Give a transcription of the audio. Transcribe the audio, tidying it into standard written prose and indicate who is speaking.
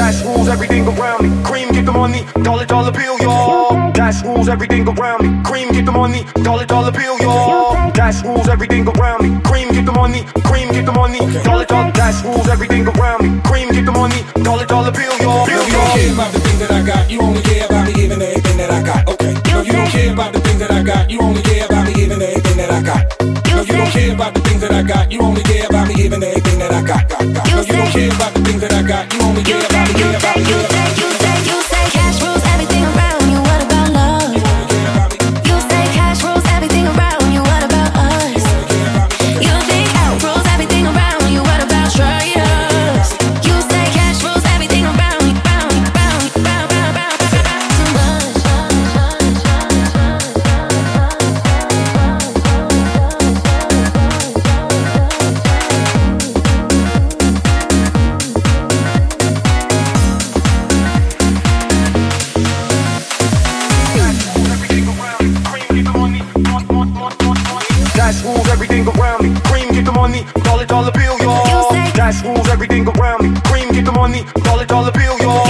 Speaker 1: Cash rules everything around me. Cream, get the money, dollar, dollar bill, y'all. Cash rules everything around me. Cream, get the money, dollar, dollar bill, y'all. Cash rules everything around me. Cream, get the money, dollar, dollar. Cash rules everything around me. Cream, get the money, dollar, dollar bill, y'all.
Speaker 2: You don't care about the things that I got. You only care about me giving everything that I got. Okay. No, you don't care about the things that I got. You only care about me giving everything that I got. No, you don't care about the things that I got. You only care about me giving everything that I got. No, you don't care about the things that I got. You only care about me giving everything that I got.
Speaker 3: You say cash rules everything around you. What about love? You say cash rules everything around you. What about us? You think cash rules everything around you. What about strangers? You say cash rules everything around you. Too much.
Speaker 1: Cash rules everything around me. Cream, get the money, dollar, dollar bill, y'all. Cash rules everything around me. Cream, get the money, dollar, dollar bill, y'all.